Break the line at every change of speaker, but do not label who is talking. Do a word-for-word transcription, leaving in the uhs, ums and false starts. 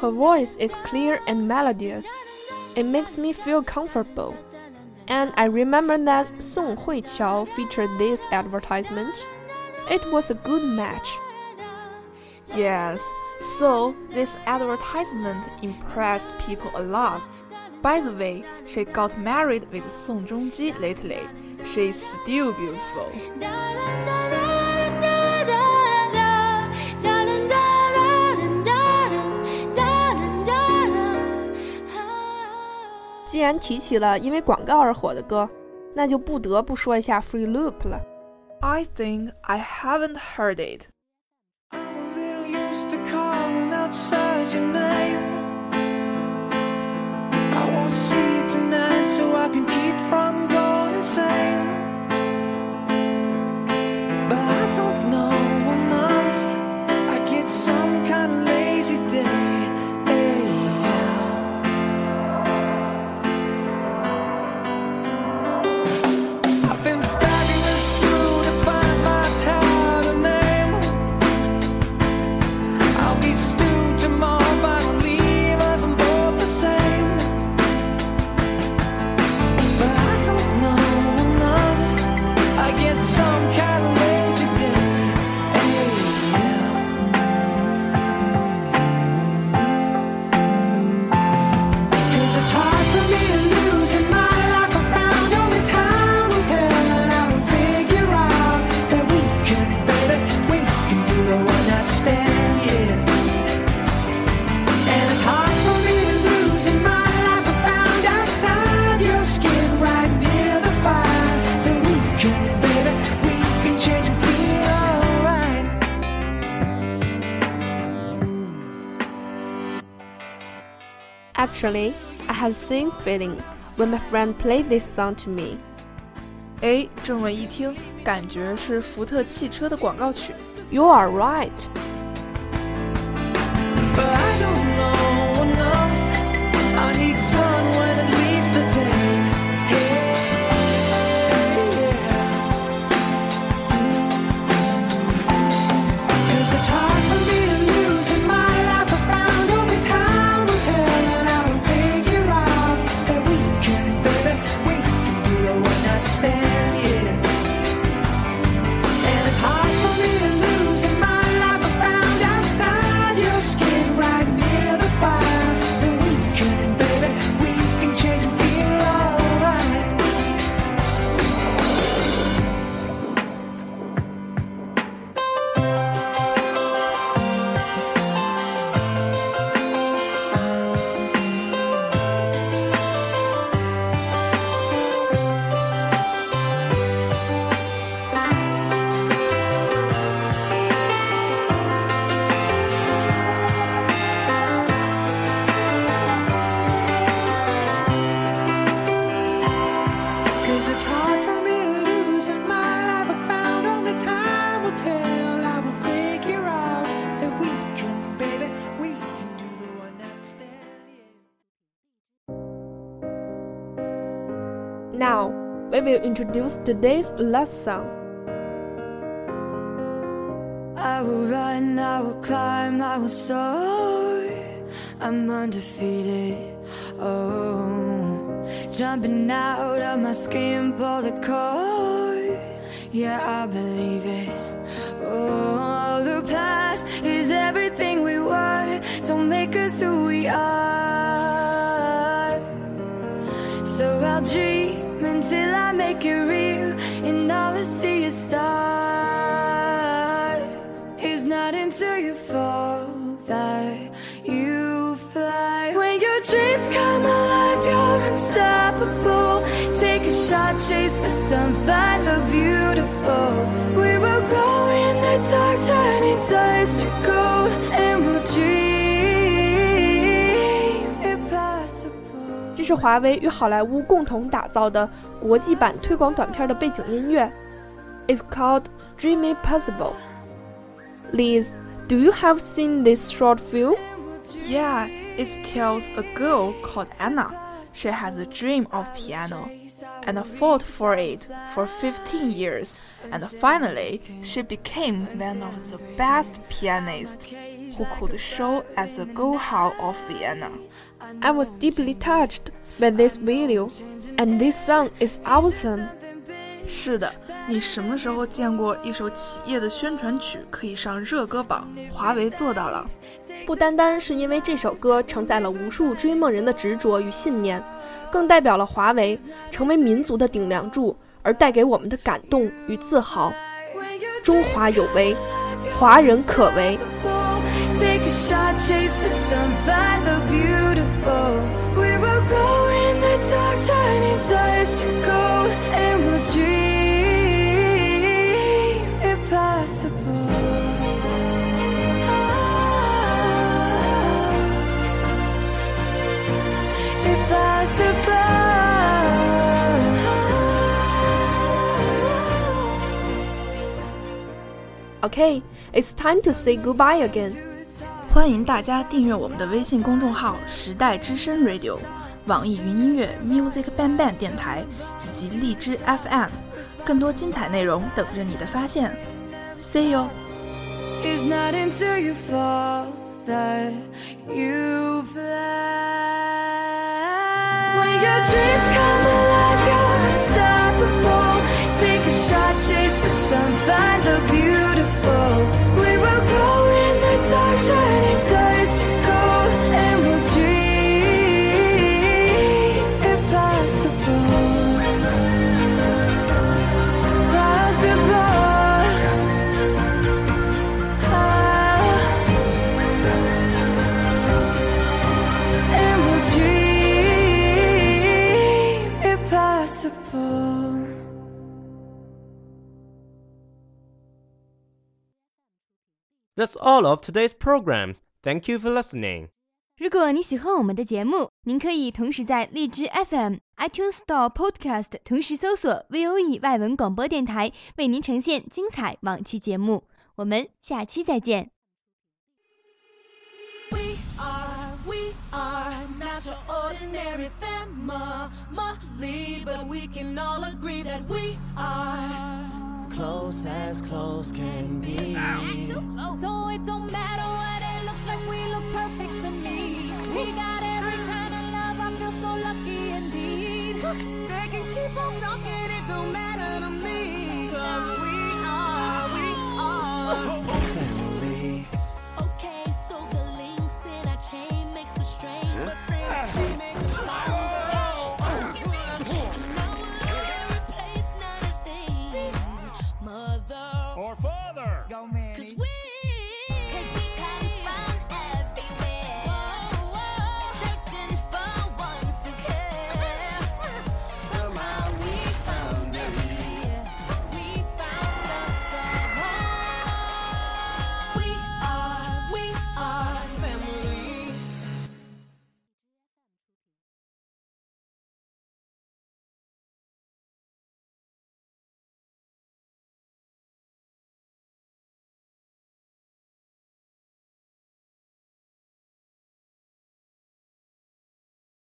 Her voice is clear and melodious. It makes me feel comfortable. And I remember that Song Huiqiao featured this advertisement. It was a good match.
Yes, so this advertisement impressed people a lot. By the way, she got married with Song Joong-ji lately. She is still beautiful.
既然提起了因为广告而火的歌，那就不得不说一下 Free Loop 了。
I think I haven't heard it.
I'm a little used to calling outside your name. I won't see you tonight so I can keep from going insane. But I don't know enough. I get some kind of lazy day.
Actually, I had the same feeling when my friend played this song to me.
哎，这么一听，感觉是福特汽车的广告曲。
You are right.
But I don't know enough. I need sun when it leaves the day. Cause it's hard for me to lose in my life. I found only time will tell, and I will figure out that we can, baby, we can do a one night stand, yeah. And it's hard for me to lose in my life. I found outside your skin right near the fire that we can, baby, we can change and feel alright. Cause it's hard for me to lose in my life. I found only time will tell. I will figure out that we can, baby, we can do the one night stand, yeah.
Now, we will introduce today's last song.
I will run, I will climb, I will soar. I'm undefeated. Oh, jumping out of my skin, pull the cord. Yeah, I believe it. Oh, the past is everything we were. Don't make us who we are. So I'll dream until I make it real, and all I see is stars. It's not until you fall that you fly. When your dreams come alive, you're unstoppable. Take a shot, chase the sun, find the beautiful. We will go in the dark, turning dust to gold, and we'll dream impossible.
这是华为与好莱坞共同打造的国际版推广短片的背景音乐。It's called Dream Impossible. Liz, do you have seen this short film?
Yeah, it tells a girl called Anna. She has a dream of piano and fought for it for fifteen years, and finally she became one of the best pianists. who could show at the Go Hall of Vienna.
I was deeply touched by this video, and this song is awesome.
是的，你什么时候见过一首企业的宣传曲可以上热歌榜？华为做到了。
不单单是因为这首歌承载了无数追梦人的执着与信念，更代表了华为成为民族的顶梁柱而带给我们的感动与自豪。中华有为，华人可为。
Take a shot, chase the sun, find the beautiful. We will go in the dark, turning dust to gold, and we'll dream impossible. Impossible.
Okay, it's time to say goodbye again.
欢迎大家订阅我们的微信公众号时代之声 Radio、 网易云音乐 Music Bang Bang 电台以及荔枝 F M， 更多精彩内容等着你的发现。 See you.
It's not until you fall that you fly. When your dreams come alive, you're unstoppable. Take a shot, chase the sun, find the beautiful. We will go in the dark, turning dust to gold, and we'll dream impossible. Possible. Ah. And we'll dream impossible.
That's all of today's programs. Thank you for listening.
如果你喜欢我们的节目，您可以同时在荔枝 F M、iTunes Store Podcast 同时搜索 V O E 外文广播电台，为您呈现精彩往期节目。我们下期再见。
We are, we are not your ordinary family, but we can all agree that we are close as close can be. So it don't matter what it looks like, we look perfect to me.